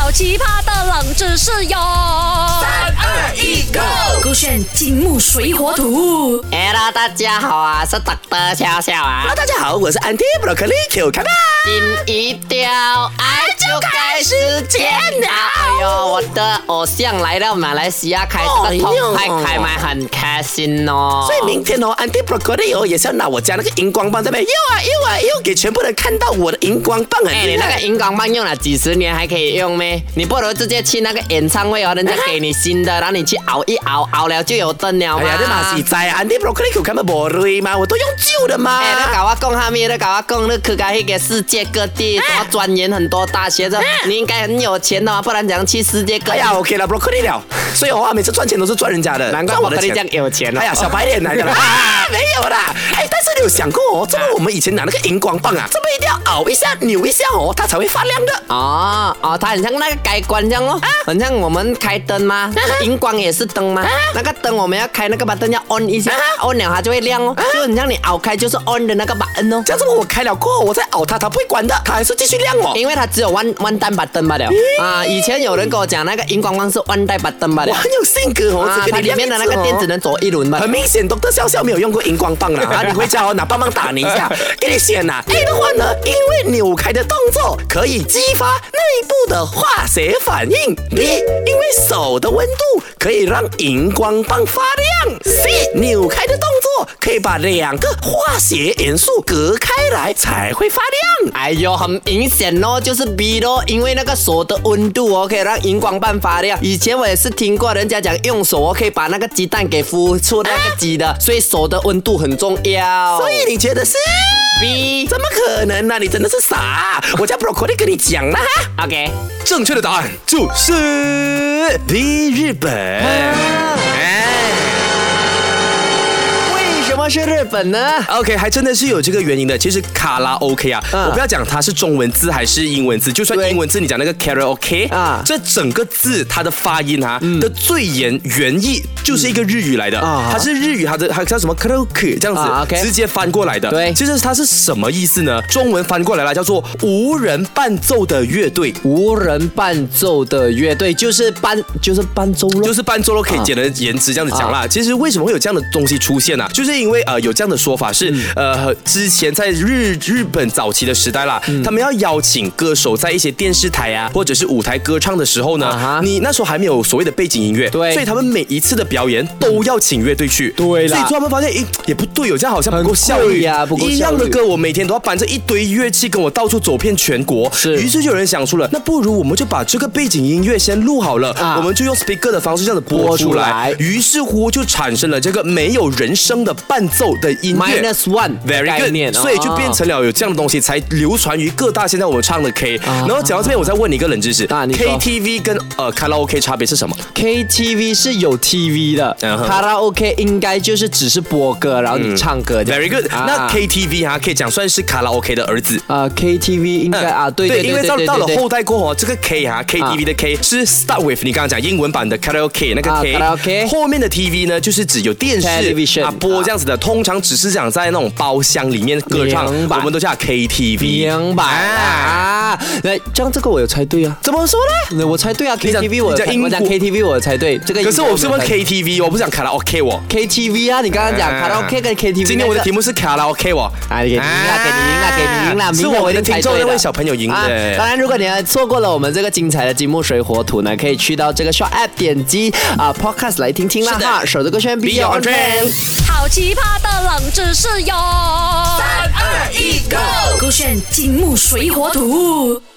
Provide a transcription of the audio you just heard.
好奇葩的冷知识哟！3、2、1，Go！ 勾选金木水火土。 Hello， 大家好啊，是 Dr. 笑笑啊。 Hello， 大家好，我是 Auntie Broccoli Q 看吧。 心一掉，爱就该实践了。哎呦，我的偶像来到马来西亚开这个通拍开麦，很开心哦。 所以明天哦 ，Auntie Broccoli 也是要拿我家那个荧光棒在那边又给全部人看到我的荧光棒很厉害。 你那个荧光棒用了几十年还可以用咩？你不如直接去那个演唱会哦，人家给你新的，然后你去熬一熬，熬了就有灯了嘛。 哎呀，你嘛是在 Auntie Broccoli Q 看嘛无对嘛，我都用旧的嘛。 哎，你搞我讲下面，你搞我讲，你去到那个世界各地，什么钻研很多大学的，你应该很有钱的嘛，不然怎样去世界各地？ 哎呀 ，OK 了 ，Broccoli 了。所以我每次赚钱都是赚人家的， 难怪我的钱这样有钱了。 哎呀，小白脸来的啦，没有啦。哎，但是你有想过哦，这么我们以前拿那个荧光棒啊，这么一定要熬一下、扭一下哦，它才会发亮的。 哦，它很像那个开关这样哦，很像我们开灯吗？荧光也是灯吗？那个灯我们要开那个把灯要 on 一下，on 了它就会亮哦，就很像你熬开就是 on 的那个把灯哦。 这样子我开了过后，我再熬它，它不会关的，它还是继续亮哦。 因为它只有one单把灯罢了啊。以前有人跟我讲那个荧光棒是one单把灯罢了。 我很有性格哦， 它里面的那个电只能走一轮吧。 很明显，Dr. 笑笑没有用过荧光棒啦，啊，你回家哦拿棒棒打你一下，给你选呐。A 的话呢，因为扭开的动作可以激发内部的化学反应。B， 因为手的温度可以让荧光棒发亮。C， 扭开的动作可以把两个化学元素隔开来才会发亮。 哎呦，很明显哦，就是 B 咯，因为那个手的温度哦，可以让荧光棒发亮。以前我也是听过人家讲用手哦，可以把那个鸡蛋给孵出那个鸡的，所以手的温度很重要。 所以你觉得是 B？ 怎么可能呢？你真的是傻！我家 Broccoli 跟你讲了哈。 OK， 正确的答案就是 B， 日本。 什么是日本呢 ？OK， 还真的是有这个原因的。其实卡拉 OK 啊，我不要讲它是中文字还是英文字，就算英文字，你讲那个 karaoke 啊，这整个字它的发音啊的最原意就是一个日语来的，它是日语，它叫什么 karaoke 这样子，直接翻过来的。 对， 其实它是什么意思呢？中文翻过来了，叫做无人伴奏的乐队。 无人伴奏的乐队就是伴奏咯， 就是伴奏咯，可以简而言之这样子讲啦。其实为什么会有这样的东西出现啊？就是因为有这样的说法是之前在日本早期的时代啦，他们要邀请歌手在一些电视台啊或者是舞台歌唱的时候呢，你那时候还没有所谓的背景音乐， 对， 所以他们每一次的表演都要请乐队去， 对啦， 所以他们发现也不对，这样好像不够效率呀，不够效率。 一样的歌我每天都要搬着一堆乐器跟我到处走遍全国，于是就有人想出了，那不如我们就把这个背景音乐先录好了，我们就用 speaker 的方式这样子播出来，于是乎就产生了这个没有人声的伴奏的音乐 -1 very good， 所以就变成了有这样的东西才流传于各大现在我们唱的 K。然后讲到这边，我再问你一个冷知识，KTV 跟卡拉 OK 差别是什么 ？KTV 是有 TV 的，卡拉 OK 应该就是只是播歌，然后你唱歌。 Very good。那 KTV 可以讲算是卡拉 OK 的儿子。 KTV 应该对， 因为到了后代过后，这个 K KTV 的 K 是 start with 你刚刚讲英文版的 karaoke 那个 K， 后面的 TV 呢就是指有电视播这样子的，通常只是讲在那种包厢里面歌唱，我们都叫 KTV。 明白啊？这样这个我有猜对啊？ 怎么说呢？ 我猜对啊 ，KTV 我讲 KTV 我猜对，这个可是我是问 KTV， 我不是讲卡拉 OK 我 KTV 啊，你刚刚讲卡拉 OK 跟 KTV， 今天我的题目是卡拉 OK 我， 给你赢了， 是我们的听众那位小朋友赢的。 当然，如果你错过了我们这个精彩的金木水火土呢，可以去到这个 Short App 点击Podcast 来听听啦哈。手这个圈 Be On Trend， 好奇葩的冷知识哟！3、2、1，Go！ 勾选金木水火土。